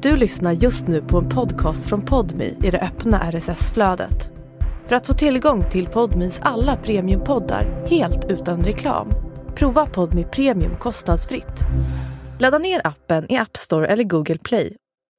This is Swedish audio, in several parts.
Du lyssnar just nu på en podcast från Podme i det öppna RSS-flödet. För att få tillgång till Podmes alla premiumpoddar helt utan reklam, prova Podme Premium kostnadsfritt. Ladda ner appen i App Store eller Google Play.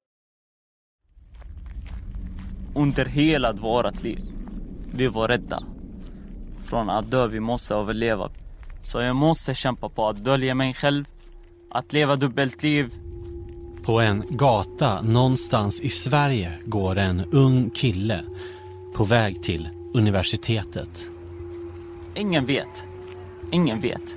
Under hela vårt liv, vi var rädda från att dö, vi måste överleva. Så jag måste kämpa på att dölja mig själv, att leva dubbelt liv. På en gata någonstans i Sverige går en ung kille på väg till universitetet. Ingen vet.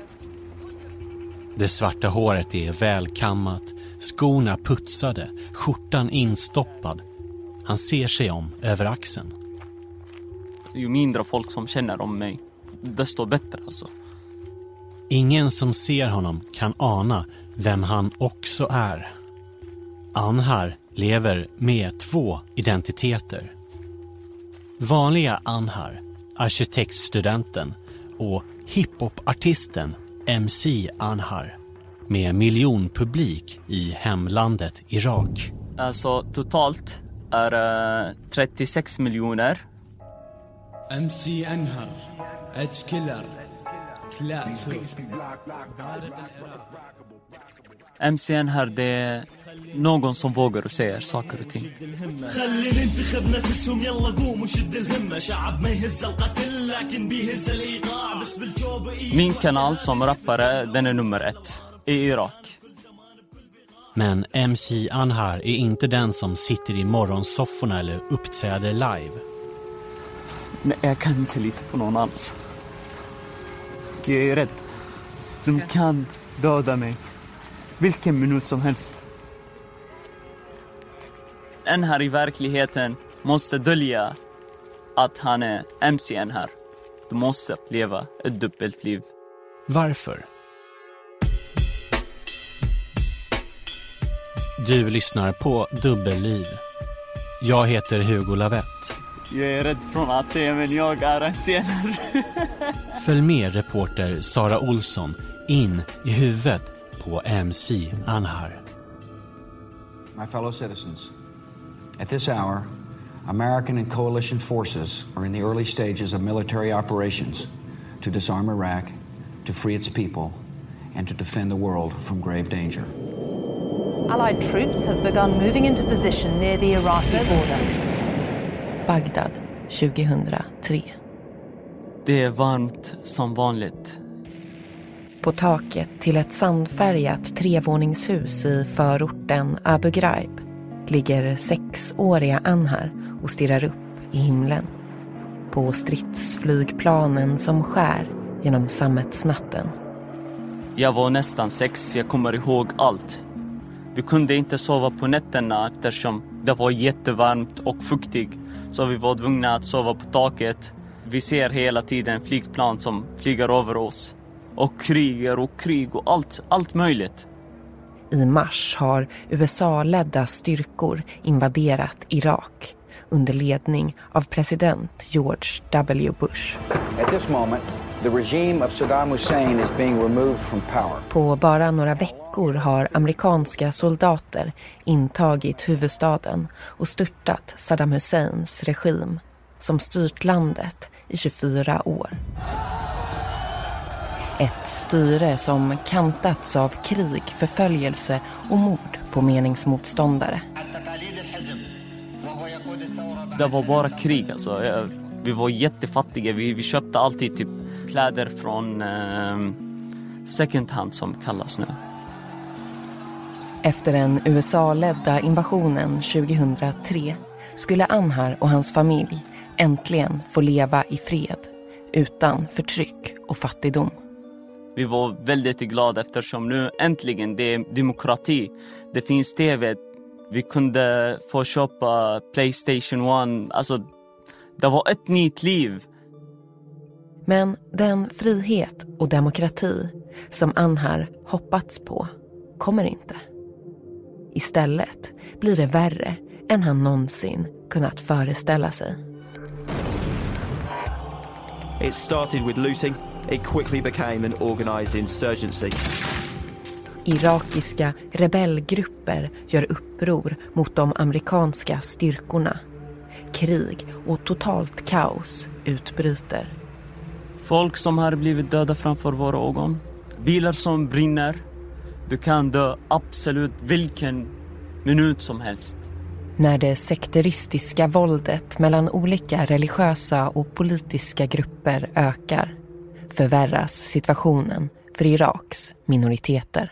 Det svarta håret är välkammat, skorna putsade, skjortan instoppad. Han ser sig om över axeln. Ju mindre folk som känner om mig, desto bättre alltså. Ingen som ser honom kan ana vem han också är. Anhar lever med 2 identiteter. Vanliga Anhar, arkitektstudenten, och hiphopartisten MC Anhar med miljonpublik i hemlandet Irak. Alltså totalt är 36 miljoner. MC Anhar, Edge Killer, MC Anhar, det är någon som vågar och säger saker och ting. Min kanal som rappare, den är nummer 1 i Irak. Men MC Anhar är inte den som sitter i morgonsofforna eller uppträder live. Nej, jag kan inte lita på någon alls. Jag är rädd. De kan döda mig vilken minut som helst. Anhar i verkligheten måste dölja att han är MC Anhar. Du måste leva ett dubbelt liv. Varför? Du lyssnar på Dubbelliv. Jag heter Hugo Lavett. Jag är rädd från att säga, men jag är MC Anhar. Följ med reporter Sara Olsson in i huvudet på MC Anhar. My fellow citizens, at this hour, American and coalition forces are in the early stages of military operations to disarm Iraq, to free its people, and to defend the world from grave danger. Allied troops have begun moving into position near the Iraqi border. Bagdad 2003. Det är varmt som vanligt. På taket till ett sandfärgat 3-våningshus i förorten Abu Ghraib ligger 6-åriga Anhar och stirrar upp i himlen. På stridsflygplanen som skär genom sammetsnatten. Jag var nästan 6, jag kommer ihåg allt. Vi kunde inte sova på nätterna eftersom det var jättevarmt och fuktigt. Så vi var tvungna att sova på taket. Vi ser hela tiden flygplan som flyger över oss. Och krig och allt möjligt. I mars har USA-ledda styrkor invaderat Irak under ledning av president George W. Bush. At this moment, the regime of Saddam Hussein is being removed from power. På bara några veckor har amerikanska soldater intagit huvudstaden och störtat Saddam Husseins regim som styrt landet i 24 år. Ett styre som kantats av krig, förföljelse och mord på meningsmotståndare. Det var bara krig alltså. Vi var jättefattiga. Vi köpte alltid typ kläder från second hand som kallas nu. Efter den USA-ledda invasionen 2003 skulle Anhar och hans familj äntligen få leva i fred utan förtryck och fattigdom. Vi var väldigt glada eftersom nu äntligen det är demokrati. Det finns tv. Vi kunde få köpa PlayStation 1. Alltså, det var ett nytt liv. Men den frihet och demokrati som Anhar hoppats på kommer inte. Istället blir det värre än han någonsin kunnat föreställa sig. It started with looting. It quickly became an organized insurgency. Irakiska rebellgrupper gör uppror mot de amerikanska styrkorna. Krig och totalt kaos utbryter. Folk som har blivit döda framför våra ögon. Bilar som brinner. Du kan dö absolut vilken minut som helst. När det sekteristiska våldet mellan olika religiösa och politiska grupper ökar förvärras situationen för Iraks minoriteter.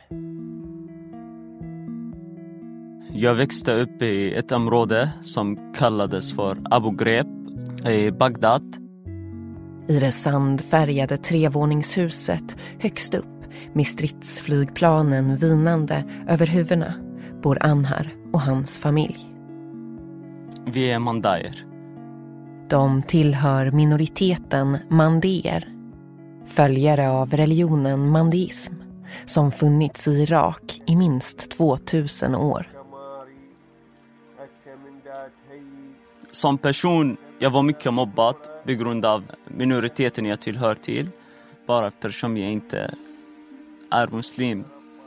Jag växte upp i ett område som kallades för Abu Ghraib i Bagdad. I det sandfärgade trevåningshuset högst upp med stridsflygplanen vinande över huvudena bor Anhar och hans familj. Vi är mandaer. De tillhör minoriteten mandeer, följare av religionen mandeism som funnits i Irak i minst 2000 år. Som person, jag var mycket mobbad på grund av minoriteten jag tillhör till. Bara eftersom jag inte är muslim.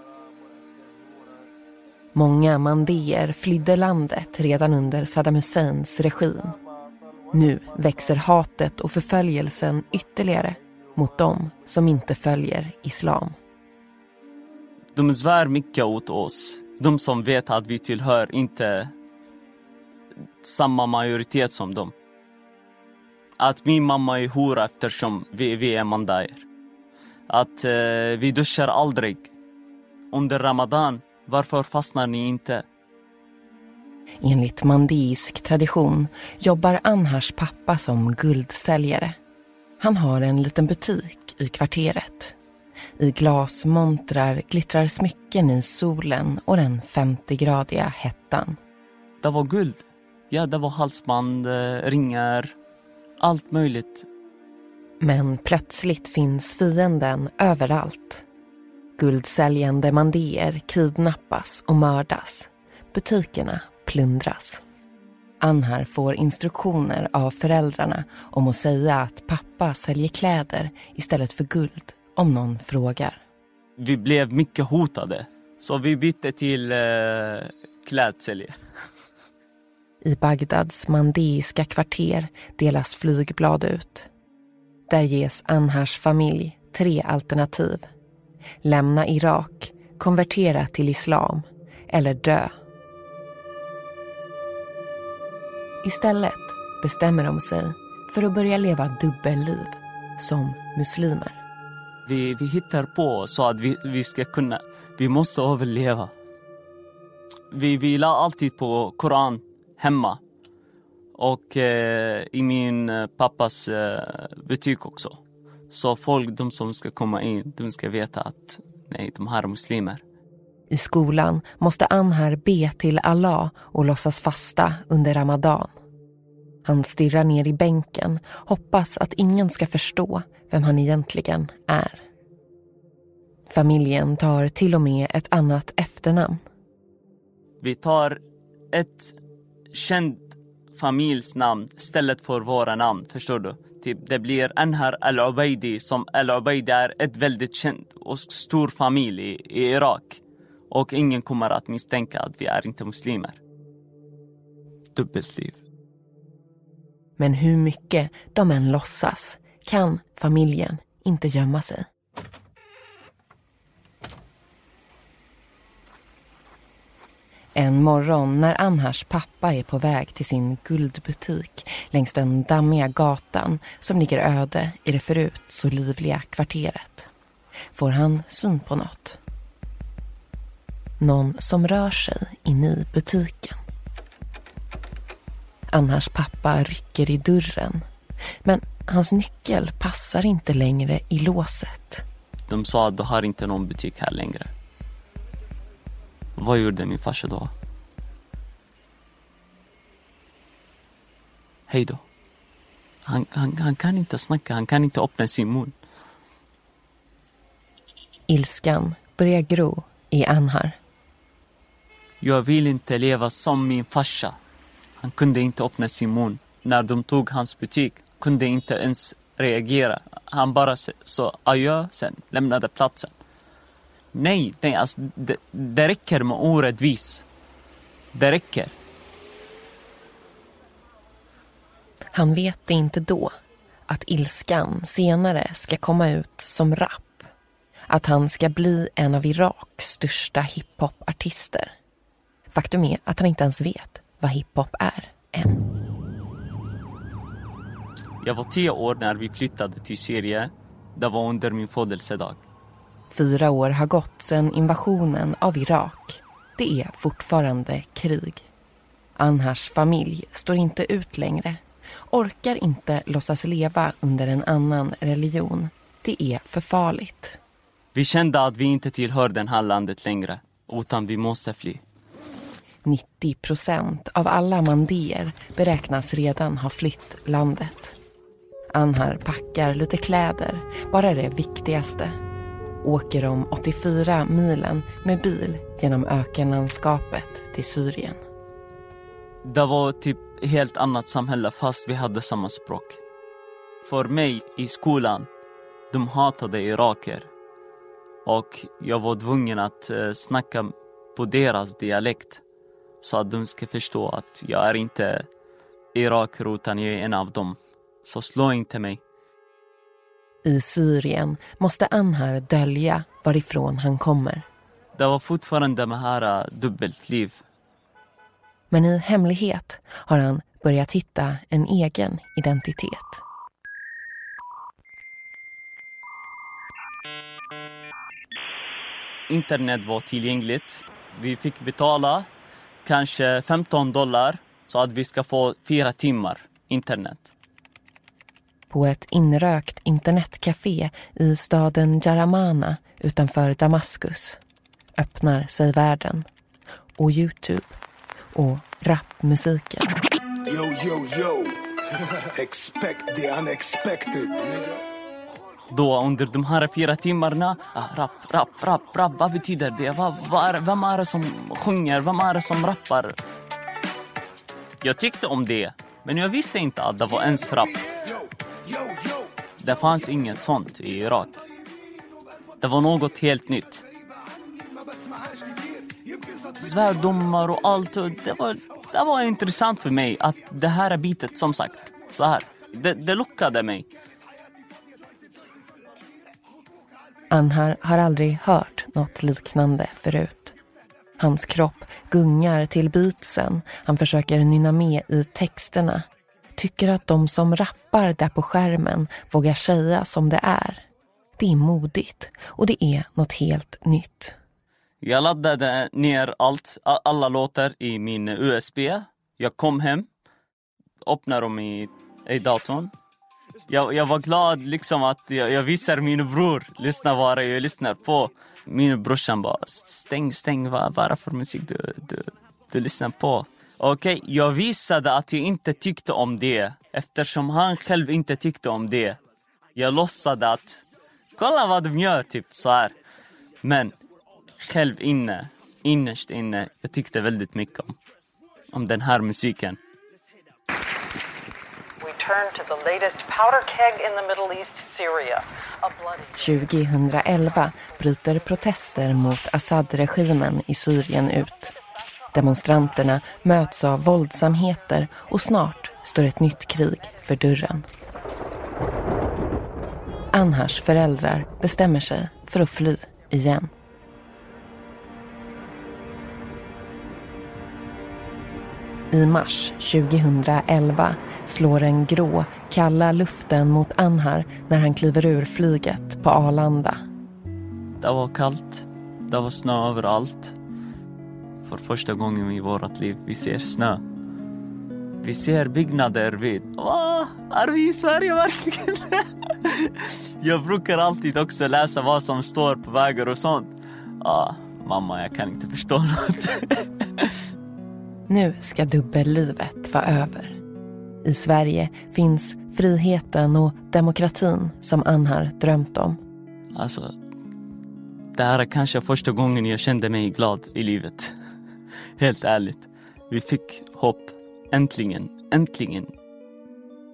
Många mandeer flydde landet redan under Saddam Husseins regim. Nu växer hatet och förföljelsen ytterligare mot dem som inte följer islam. De svär mycket åt oss. De som vet att vi tillhör inte samma majoritet som dem. Att min mamma är hora eftersom vi är mandaer. Att vi duschar aldrig. Under Ramadan, varför fastnar ni inte? Enligt mandeisk tradition jobbar Anhars pappa som guldsäljare. Han har en liten butik i kvarteret. I glasmontrar glittrar smycken i solen och den 50-gradiga hettan. Det var guld. Ja, det var halsband, ringar, allt möjligt. Men plötsligt finns fienden överallt. Guldsäljande mandeer kidnappas och mördas. Butikerna plundras. Anhar får instruktioner av föräldrarna om att säga att pappa säljer kläder istället för guld om någon frågar. Vi blev mycket hotade, så vi bytte till klädsälje. I Bagdads mandeiska kvarter delas flygblad ut. Där ges Anhars familj 3 alternativ. Lämna Irak, konvertera till islam eller dö. Istället bestämmer de sig för att börja leva dubbelliv som muslimer. Vi hittar på så att vi ska kunna, vi måste överleva. Vi la alltid på Koran hemma och i min pappas butik också. Så folk, de som ska komma in, de ska veta att nej, de här är muslimer. I skolan måste Anhar be till Allah och låtsas fasta under Ramadan. Han stirrar ner i bänken, hoppas att ingen ska förstå vem han egentligen är. Familjen tar till och med ett annat efternamn. Vi tar ett känt familjsnamn istället för våra namn, förstår du? Typ, det blir Anhar al-Ubaidi, som al-Ubaidi är ett väldigt känt och stor familj i Irak. Och ingen kommer att misstänka att vi är inte muslimer. Dubbelliv. Men hur mycket de än låtsas kan familjen inte gömma sig. En morgon när Anhars pappa är på väg till sin guldbutik längs den dammiga gatan som ligger öde i det förut så livliga kvarteret får han syn på något. Någon som rör sig in i butiken. Anhars pappa rycker i dörren, men hans nyckel passar inte längre i låset. De sa att du har inte någon butik här längre. Vad gjorde min farsa då? Hej då. Han kan inte snacka, han kan inte öppna sin mun. Ilskan börjar gro i Anhar. Jag vill inte leva som min farsa. Han kunde inte öppna sin mun. När de tog hans butik kunde inte ens reagera. Han bara sa adjö, sen lämnade platsen. Nej, alltså, det räcker med orättvis. Det räcker. Han vet inte då att ilskan senare ska komma ut som rap. Att han ska bli en av Iraks största hiphop-artister. Faktum är att han inte ens vet vad hiphop är än. Jag var 10 år när vi flyttade till Syrien. Det var under min födelsedag. 4 år har gått sedan invasionen av Irak. Det är fortfarande krig. Anhars familj står inte ut längre. Orkar inte låtsas leva under en annan religion. Det är för farligt. Vi kände att vi inte tillhör den här landet längre, utan vi måste fly. 90% av alla mandéer beräknas redan ha flytt landet. Anhar packar lite kläder, bara det viktigaste. Åker de 84 milen med bil genom ökenlandskapet till Syrien. Det var typ helt annat samhälle fast vi hade samma språk. För mig i skolan, de hatade iraker. Och jag var tvungen att snacka på deras dialekt. Så att de ska förstå att jag är inte iraker utan jag är en av dem. Så slå inte mig. I Syrien måste Anhar dölja varifrån han kommer. Det var fortfarande med här dubbelt liv. Men i hemlighet har han börjat hitta en egen identitet. Internet var tillgängligt. Vi fick betala kanske $15 så att vi ska få 4 timmar internet. På ett inrökt internetcafé i staden Jaramana utanför Damaskus öppnar sig världen och YouTube och rapmusiken. Yo, yo, yo. Expect the unexpected, nigga. Då under de här 4 timmarna, rap, vad betyder det? Vem är det som sjunger? Vem är det som rappar? Jag tyckte om det, men jag visste inte att det var ens rap. Det fanns inget sånt i Irak. Det var något helt nytt. Svärdomar och allt, det var intressant för mig att det här är bitet som sagt, så här. Det lockade mig. Anhar har aldrig hört något liknande förut. Hans kropp gungar till beatsen. Han försöker nynna med i texterna. Tycker att de som rappar där på skärmen vågar säga som det är. Det är modigt och det är något helt nytt. Jag laddade ner alla låtar i min USB. Jag kom hem, öppnade dem i datorn. Jag var glad liksom att jag visar min bror lyssna vad jag lyssnar på. Min brorsan bara stäng vad är det för musik du lyssnar på. Okej, jag visade att jag inte tyckte om det eftersom han själv inte tyckte om det. Jag låtsade att kolla vad de gör typ så här. Men själv innerst inne jag tyckte väldigt mycket om den här musiken. Turn to the latest powder keg in the Middle East, Syria. 2011 bryter protester mot Assad-regimen i Syrien ut. Demonstranterna möts av våldsamheter och snart står ett nytt krig för dörren. Anhars föräldrar bestämmer sig för att fly igen. I mars 2011 slår en grå, kalla luften mot Anhar när han kliver ur flyget på Arlanda. Det var kallt, det var snö överallt. För första gången i vårt liv vi ser snö. Vi ser byggnader vid. Är vi i Sverige verkligen? Jag brukar alltid också läsa vad som står på vägar och sånt. Mamma, jag kan inte förstå något. Nu ska dubbellivet vara över. I Sverige finns friheten och demokratin som Anhar drömt om. Alltså, det här är kanske första gången jag kände mig glad i livet. Helt ärligt. Vi fick hopp. Äntligen.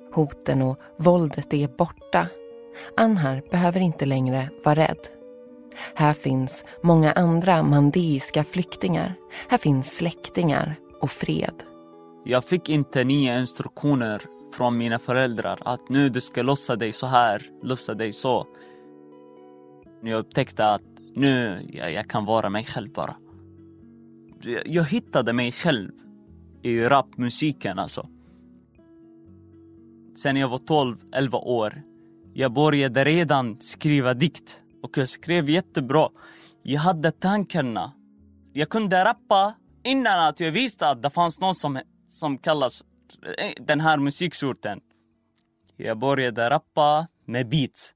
Hoten och våldet är borta. Anhar behöver inte längre vara rädd. Här finns många andra mandeiska flyktingar. Här finns släktingar och fred. Jag fick inte nya instruktioner från mina föräldrar att nu du ska lossa dig så här, lossa dig så. Jag upptäckte att nu jag kan vara mig själv bara. Jag hittade mig själv i rapmusiken alltså. Sen jag var 12-11 år. Jag började redan skriva dikt. Och jag skrev jättebra. Jag hade tankarna. Jag kunde rappa innan att jag visste att det fanns någon som kallas den här musiksorten. Jag började rappa med beats.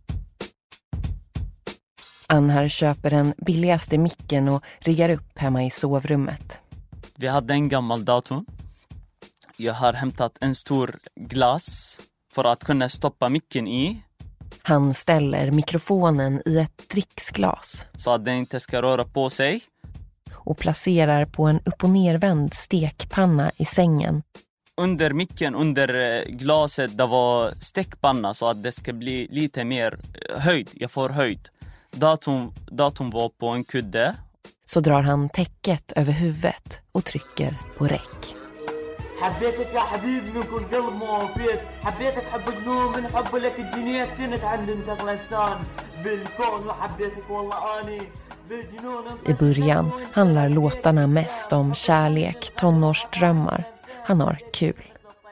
Anhar köper den billigaste micken och riggar upp hemma i sovrummet. Vi hade en gammal dator. Jag har hämtat en stor glas för att kunna stoppa micken i. Han ställer mikrofonen i ett dricksglas. Så att den inte ska röra på sig. Och placerar på en upp- och nervänd stekpanna i sängen. Under micken, under glaset, det var stekpanna så att det ska bli lite mer höjd. Jag får höjd. Datorn var på en kudde. Så drar han täcket över huvudet och trycker på räck. حبيتك يا حبيبي من كل قلب ما وفيت حبيتك حب جنون من حب لك الدنيا كنت عند انت غلسان بالكون وحبيتك والله اني بالجنون. I början handlar låtarna mest om kärlek, tonårsdrömmar. Han har kul.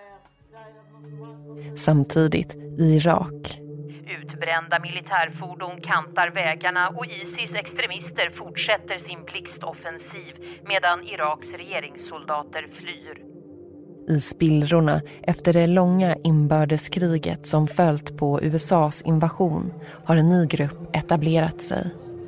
Samtidigt i Irak. Utbrända militärfordon kantar vägarna och ISIS extremister fortsätter sin blixtoffensiv medan Iraks regeringssoldater flyr. I spillrorna efter det långa inbördeskriget som följt på USAs invasion har en ny grupp etablerat sig.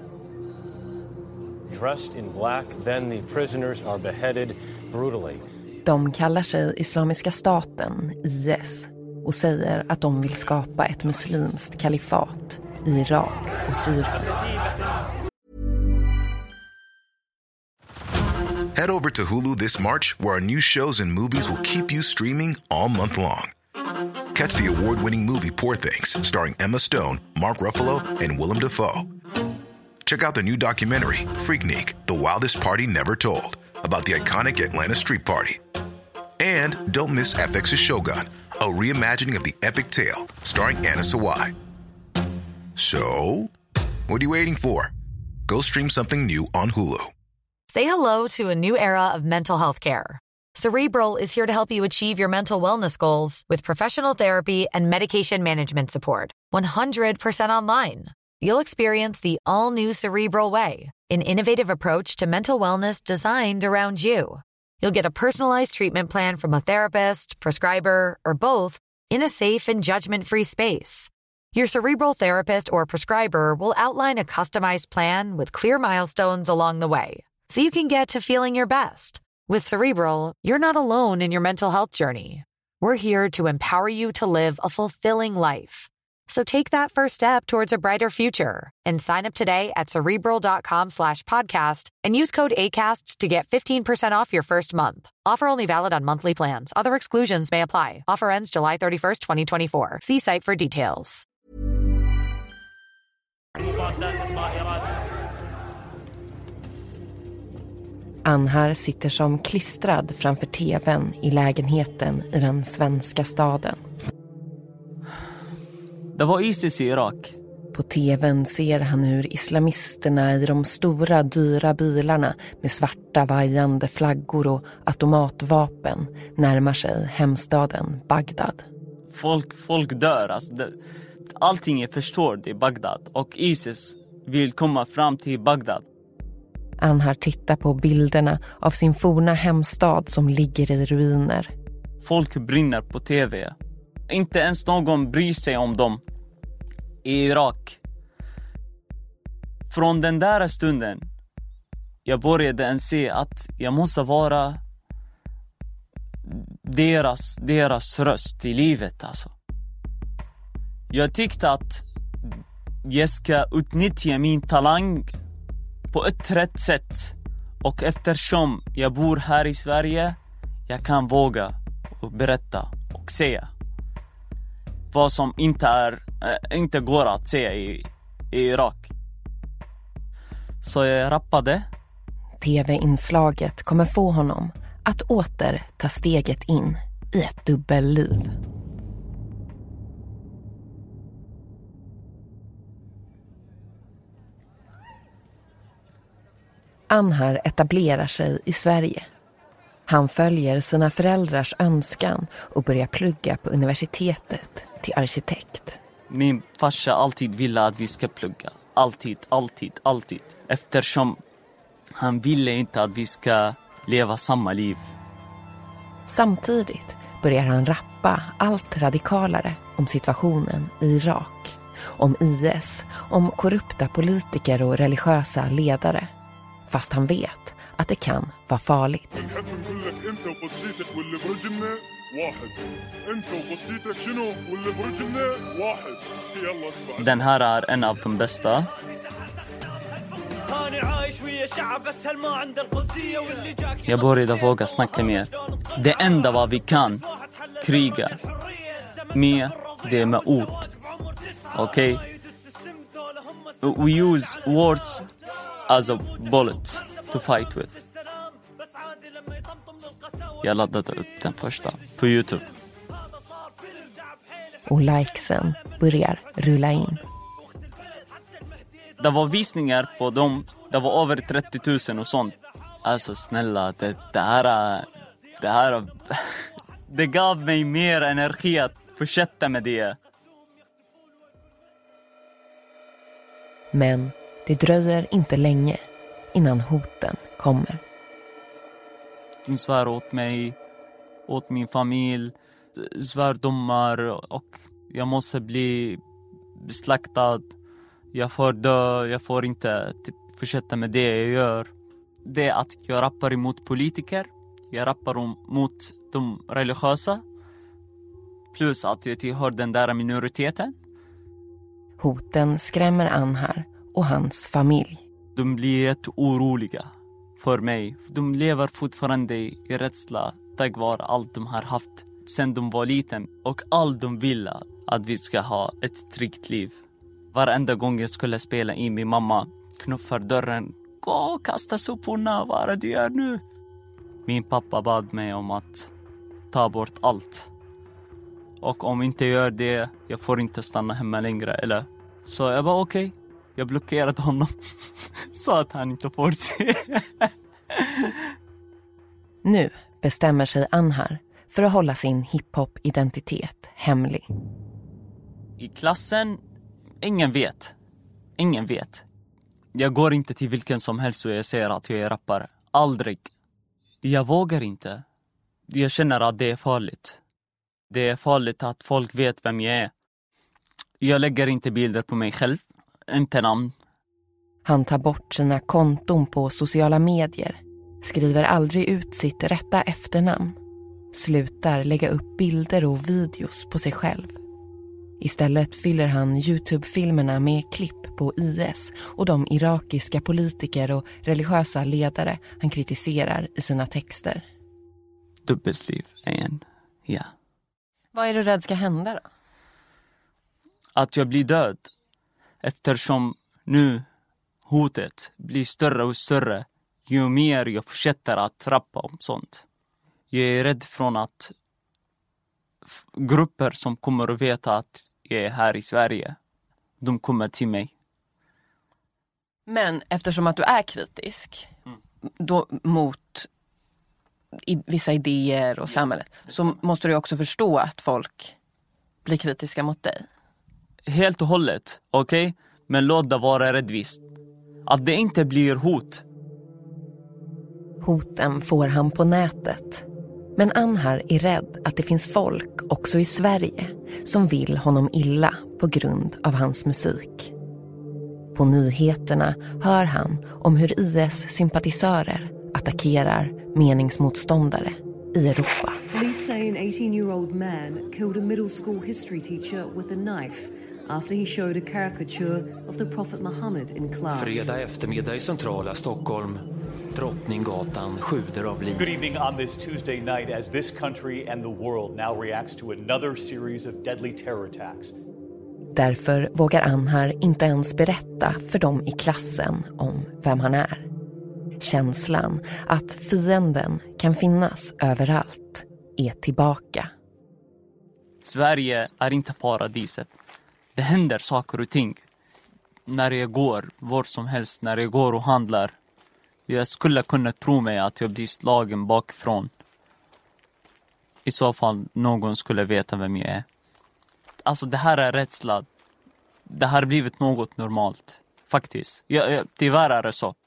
Dressed in black, then the prisoners are beheaded brutally. De kallar sig Islamiska staten, IS, och säger att de vill skapa ett muslimskt kalifat i Irak och Syrien. Head over to Hulu this March, where our new shows and movies will keep you streaming all month long. Catch the award-winning movie Poor Things, starring Emma Stone, Mark Ruffalo, and Willem Dafoe. Check out the new documentary, Freaknik, The Wildest Party Never Told, about the iconic Atlanta Street Party. And don't miss FX's Shogun, a reimagining of the epic tale, starring Anna Sawai. So, what are you waiting for? Go stream something new on Hulu. Say hello to a new era of mental health care. Cerebral is here to help you achieve your mental wellness goals with professional therapy and medication management support. 100% online. You'll experience the all-new Cerebral Way, an innovative approach to mental wellness designed around you. You'll get a personalized treatment plan from a therapist, prescriber, or both in a safe and judgment-free space. Your Cerebral therapist or prescriber will outline a customized plan with clear milestones along the way, so you can get to feeling your best. With Cerebral, you're not alone in your mental health journey. We're here to empower you to live a fulfilling life. So take that first step towards a brighter future and sign up today at Cerebral.com/podcast and use code ACAST to get 15% off your first month. Offer only valid on monthly plans. Other exclusions may apply. Offer ends July 31st, 2024. See site for details. Anhar sitter som klistrad framför tvn i lägenheten i den svenska staden. Det var ISIS i Irak. På tvn ser han hur islamisterna i de stora dyra bilarna med svarta vajande flaggor och automatvapen närmar sig hemstaden Bagdad. Folk dör. Alltså allting är förstört i Bagdad och ISIS vill komma fram till Bagdad. Anhar tittar på bilderna av sin forna hemstad som ligger i ruiner. Folk brinner på tv. Inte ens någon bryr sig om dem i Irak. Från den där stunden jag började se att jag måste vara deras röst i livet alltså. Jag tyckte att jag ska utnyttja min talang på ett rätt sätt. Och eftersom jag bor här i Sverige, jag kan våga och berätta och säga vad som inte går att säga i Irak. Så jag rappade. TV-inslaget kommer få honom att åter ta steget in i ett dubbelliv. Anhar etablerar sig i Sverige. Han följer sina föräldrars önskan och börjar plugga på universitetet till arkitekt. Min farsa alltid ville att vi ska plugga. Alltid. Eftersom han ville inte att vi ska leva samma liv. Samtidigt börjar han rappa allt radikalare om situationen i Irak. Om IS, om korrupta politiker och religiösa ledare. Fast han vet att det kan vara farligt. Den här är en av de bästa. Jag började våga snacka mer. Det enda vad vi kan kriga med, det är med ord. Okej? We use words as a bullet to fight with. Jag laddade upp den första på YouTube. Och likesen börjar rulla in. Det var visningar på dem. Det var över 30 000 och sånt. Alltså snälla, det här det gav mig mer energi att fortsätta med det. Men det dröjer inte länge innan hoten kommer. De svär åt mig, åt min familj, svärdomar och jag måste bli beslaktad. Jag får dö, jag får inte fortsätta med det jag gör. Det är att jag rappar emot politiker, jag rappar mot de religiösa. Plus att jag tillhör den där minoriteten. Hoten skrämmer Anhar och hans familj. De blir jätteoroliga för mig. De lever fortfarande i rädsla tack vare allt de har haft sedan de var liten. Och allt de vill att vi ska ha ett tryggt liv. Varenda gång jag skulle spela in, min mamma knuffar dörren. Gå och kasta soporna, vad är det du gör nu? Min pappa bad mig om att ta bort allt. Och om inte gör det, jag får inte stanna hemma längre. Eller? Så jag bara okej. Jag blockerade honom. Så att han inte får se. Nu bestämmer sig Anhar för att hålla sin hiphop-identitet hemlig. I klassen, ingen vet. Jag går inte till vilken som helst och jag säger att jag är rappare. Aldrig. Jag vågar inte. Jag känner att det är farligt. Det är farligt att folk vet vem jag är. Jag lägger inte bilder på mig själv. Inte namn. Han tar bort sina konton på sociala medier. Skriver aldrig ut sitt rätta efternamn. Slutar lägga upp bilder och videos på sig själv. Istället fyller han YouTube-filmerna med klipp på IS och de irakiska politiker och religiösa ledare han kritiserar i sina texter. Dubbelliv igen, ja. Vad är du rädd ska hända då? Att jag blir död. Eftersom nu hotet blir större och större ju mer jag fortsätter att rappa om sånt. Jag är rädd från att grupper som kommer att veta att jag är här i Sverige, de kommer till mig. Men eftersom att du är kritisk då, mot vissa idéer och samhället, så måste du också förstå att folk blir kritiska mot dig. Helt och hållet, okej? Men låt det vara rättvist. Att det inte blir hot. Hoten får han på nätet. Men Anhar är rädd att det finns folk också i Sverige som vill honom illa på grund av hans musik. På nyheterna hör han om hur IS-sympatisörer attackerar meningsmotståndare i Europa. Police say an 18-year-old man killed a middle school history teacher with a knife after he showed a caricature of the Prophet Muhammad in class. Fredag eftermiddag i centrala Stockholm. Drottninggatan sjuder av liv. Good evening on this Tuesday night as this country and the world now reacts to another series of deadly terror attacks. Därför vågar Anhar inte ens berätta för dem i klassen om vem han är. Känslan att fienden kan finnas överallt är tillbaka. Sverige är inte paradiset. Det händer saker och ting. När jag går, var som helst, när jag går och handlar. Jag skulle kunna tro mig att jag blir slagen bakifrån. I så fall någon skulle veta vem jag är. Alltså det här är rädsla. Det har blivit något normalt. Faktiskt. Tyvärr är det så.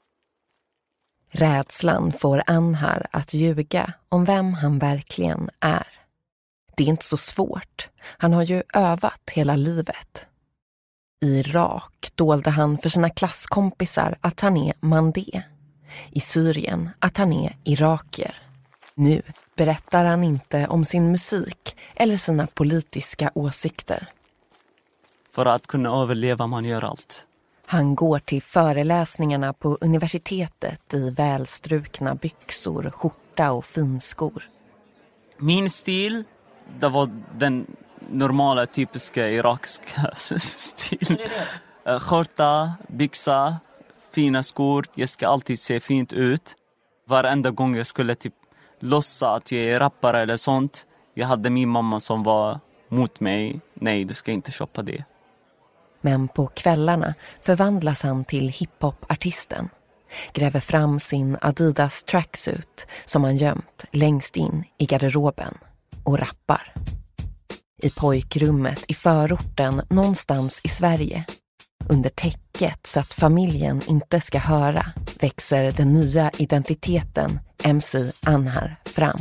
Rädslan får Anhar att ljuga om vem han verkligen är. Det är inte så svårt. Han har ju övat hela livet. I Irak dolde han för sina klasskompisar att han är mandé. I Syrien att han är iraker. Nu berättar han inte om sin musik eller sina politiska åsikter. För att kunna överleva man gör allt. Han går till föreläsningarna på universitetet i välstrukna byxor, skjorta och finskor. Min stil, det var den normala typiska irakska stil. Skjorta, byxa, fina skor. Jag ska alltid se fint ut. Varenda gång jag skulle typ låtsas att jag är rappare eller sånt. Jag hade min mamma som var mot mig. Nej, du ska inte shoppa det. Men på kvällarna förvandlas han till hiphop-artisten. Gräver fram sin Adidas tracksuit som han gömt längst in i garderoben och rappar. I pojkrummet i förorten någonstans i Sverige, under täcket så att familjen inte ska höra, växer den nya identiteten MC Anhar fram.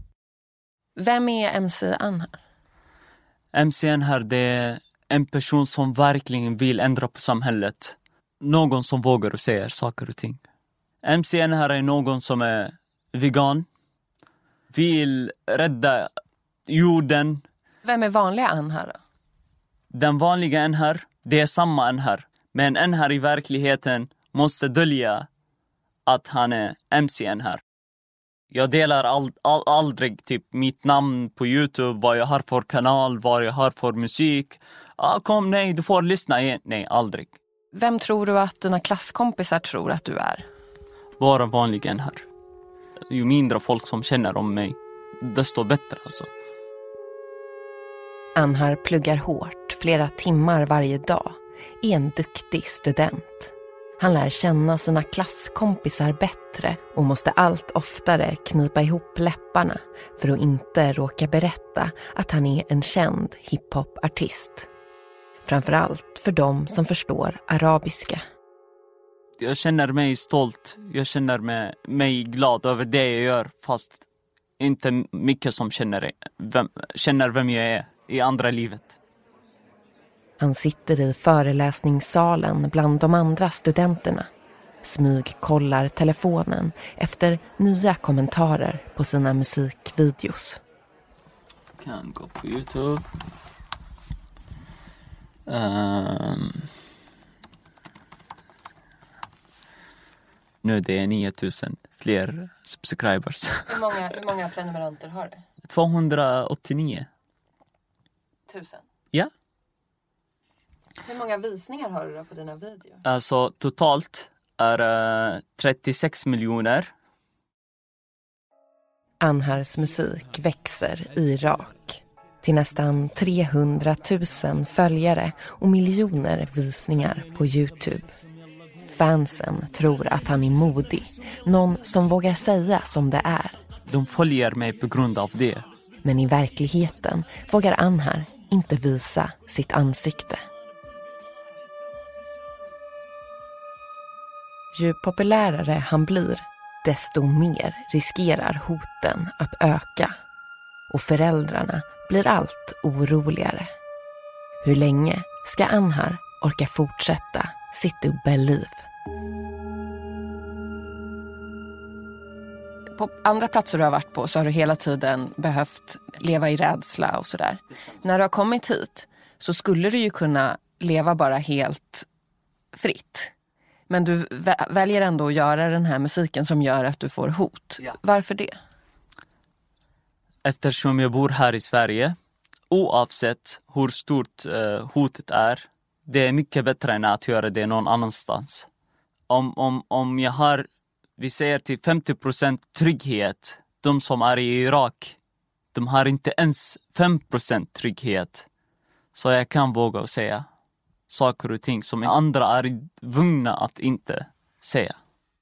Vem är MC Anhar? MC Anhar, det är en person som verkligen vill ändra på samhället. Någon som vågar och säger saker och ting. MC Anhar är någon som är vegan. Vill rädda jorden. Vem är vanliga Anhar då? Den vanliga Anhar, det är samma Anhar. Men Anhar i verkligheten måste dölja att han är MC Anhar. Jag delar aldrig typ mitt namn på YouTube, vad jag har för kanal, vad jag har för musik. Kom, nej, du får lyssna igen. Nej, aldrig. Vem tror du att dina klasskompisar tror att du är? Bara vanlig Anhar. Ju mindre folk som känner om mig, desto bättre alltså. Anhar pluggar hårt, flera timmar varje dag. Är en duktig student. Han lär känna sina klasskompisar bättre och måste allt oftare knipa ihop läpparna för att inte råka berätta att han är en känd hiphop-artist. Framförallt för de som förstår arabiska. Jag känner mig stolt, jag känner mig glad över det jag gör, fast inte mycket som känner vem jag är i andra livet. Han sitter i föreläsningssalen bland de andra studenterna. Smygkollar telefonen efter nya kommentarer på sina musikvideos. Kan gå på YouTube. Nu det är 9000 fler subscribers. Hur många prenumeranter har du? 289. 1000? Ja. Hur många visningar har du då på dina videor? Alltså totalt är 36 miljoner. Anhars musik växer i Irak till nästan 300 000 följare och miljoner visningar på YouTube. Fansen tror att han är modig, någon som vågar säga som det är. De följer mig på grund av det. Men i verkligheten vågar Anhar inte visa sitt ansikte. Ju populärare han blir, desto mer riskerar hoten att öka. Och föräldrarna blir allt oroligare. Hur länge ska Anhar orka fortsätta sitt dubbelliv? På andra platser du har varit på så har du hela tiden behövt leva i rädsla och sådär. När du har kommit hit så skulle du ju kunna leva bara helt fritt. Men du väljer ändå att göra den här musiken som gör att du får hot. Ja. Varför det? Eftersom jag bor här i Sverige, oavsett hur stort hotet är, det är mycket bättre än att göra det någon annanstans. Om jag har, vi säger till 50% trygghet, de som är i Irak, de har inte ens 5% trygghet. Så jag kan våga säga saker och ting som andra är tvungna att inte säga.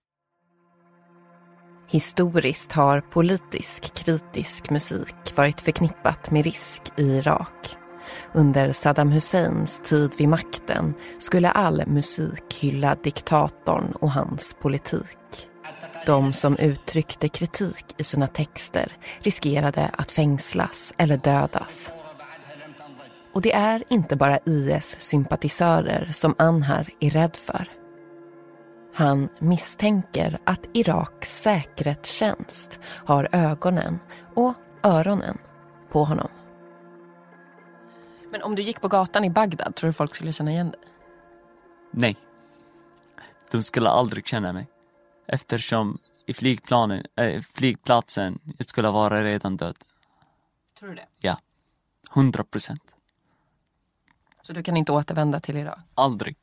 Historiskt har politisk kritisk musik varit förknippat med risk i Irak. Under Saddam Husseins tid vid makten skulle all musik hylla diktatorn och hans politik. De som uttryckte kritik i sina texter riskerade att fängslas eller dödas. Och det är inte bara IS-sympatisörer som Anhar är rädd för. Han misstänker att Iraks säkerhetstjänst har ögonen och öronen på honom. Men om du gick på gatan i Bagdad, tror du folk skulle känna igen dig? Nej. De skulle aldrig känna mig. Eftersom i flygplatsen jag skulle vara redan död. Tror du det? Ja. 100%. Så du kan inte återvända till Irak? Aldrig.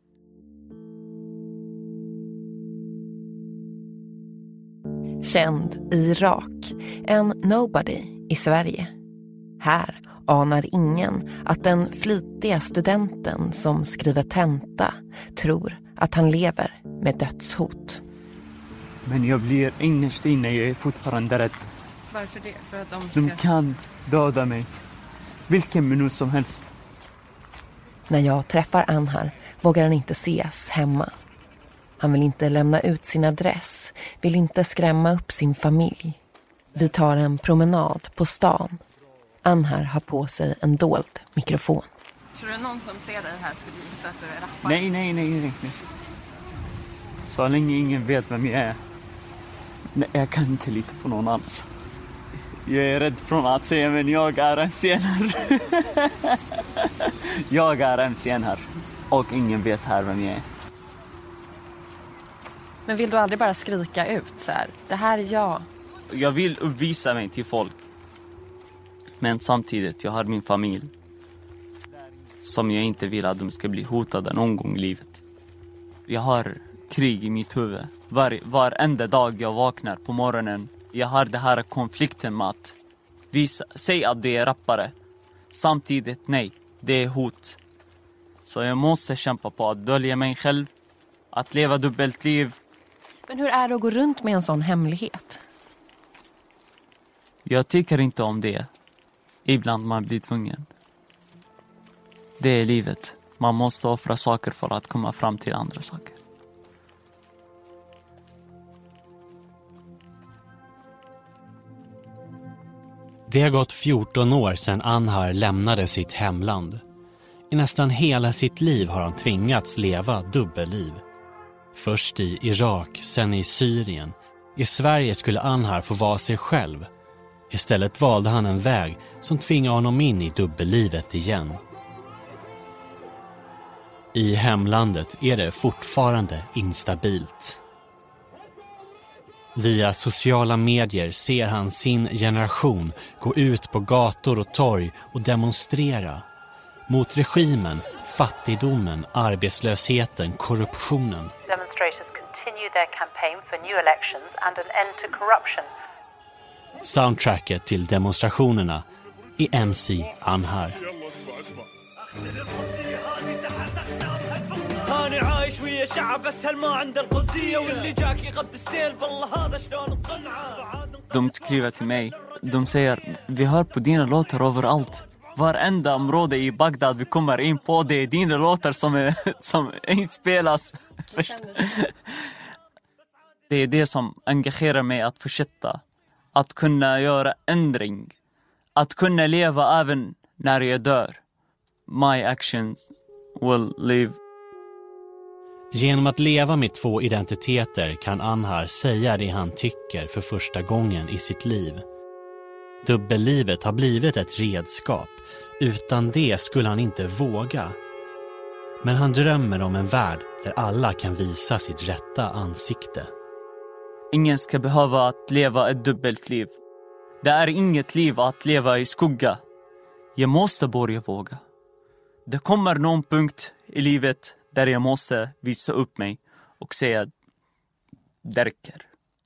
Känd i Irak, en nobody i Sverige. Här anar ingen att den flitiga studenten som skriver tenta tror att han lever med dödshot. Men jag blir innerst inne, jag är fortfarande rädd. Varför det? För att de kan döda mig. Vilken minut som helst. När jag träffar Anhar vågar han inte ses hemma. Han vill inte lämna ut sin adress, vill inte skrämma upp sin familj. Vi tar en promenad på stan. Anhar har på sig en dold mikrofon. Tror du någon som ser dig här skulle gissa att du är rappare? Nej. Så länge ingen vet vem jag är. Nej, jag kan inte lita på någon alls. Jag är rädd från att säga, men jag är MC här. Jag är MC här. Och ingen vet här vem jag är. Men vill du aldrig bara skrika ut så här? Det här är jag. Jag vill uppvisa mig till folk. Men samtidigt, jag har min familj. Som jag inte vill att de ska bli hotade någon gång i livet. Jag har krig i mitt huvud. Varenda dag jag vaknar på morgonen. Jag har det här konflikten med att säga att det är rappare. Samtidigt, nej, det är hot. Så jag måste kämpa på att dölja mig själv. Att leva dubbelt liv. Men hur är det att gå runt med en sån hemlighet? Jag tycker inte om det. Ibland man blir tvungen. Det är livet. Man måste offra saker för att komma fram till andra saker. Det har gått 14 år sedan Anhar lämnade sitt hemland. I nästan hela sitt liv har han tvingats leva dubbelliv. Först i Irak, sen i Syrien. I Sverige skulle Anhar få vara sig själv. Istället valde han en väg som tvingade honom in i dubbellivet igen. I hemlandet är det fortfarande instabilt. Via sociala medier ser han sin generation gå ut på gator och torg och demonstrera. Mot regimen, fattigdomen, arbetslösheten, korruptionen. Demonstrators continue their campaign for new elections and an end to corruption. Soundtracket till demonstrationerna är MC Anhar. De skriver till mig. De säger, vi hör på dina låtar överallt. Varenda område i Bagdad vi kommer in på, det är dina låtar som inspelas. Det är det som engagerar mig att fortsätta. Att kunna göra ändring. Att kunna leva även när jag dör. My actions will live. Genom att leva med 2 identiteter kan Anhar säga det han tycker för första gången i sitt liv. Dubbellivet har blivit ett redskap. Utan det skulle han inte våga. Men han drömmer om en värld där alla kan visa sitt rätta ansikte. Ingen ska behöva att leva ett dubbelt liv. Det är inget liv att leva i skugga. Jag måste börja våga. Det kommer någon punkt i livet där jag måste visa upp mig och säga det räcker.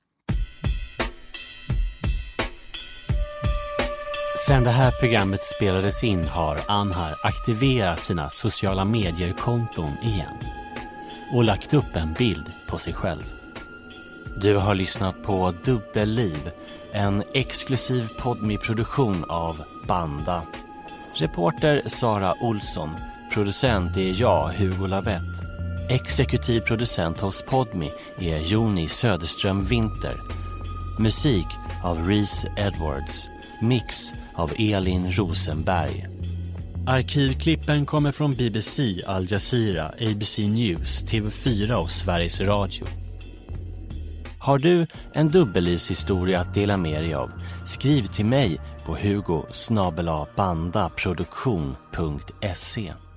Sen det här programmet spelades in har Anhar aktiverat sina sociala medier-konton igen och lagt upp en bild på sig själv. Du har lyssnat på Dubbelliv, en exklusiv Podme-produktion av Banda. Reporter Sara Olsson, producent är jag, Hugo Lavett. Exekutiv producent hos Podme är Joni Söderström Winter. Musik av Reese Edwards. Mix av Elin Rosenberg. Arkivklippen kommer från BBC, Al Jazeera, ABC News, TV4 och Sveriges Radio. Har du en dubbellivshistoria att dela med dig av? Skriv till mig på hugo@bandaproduktion.se.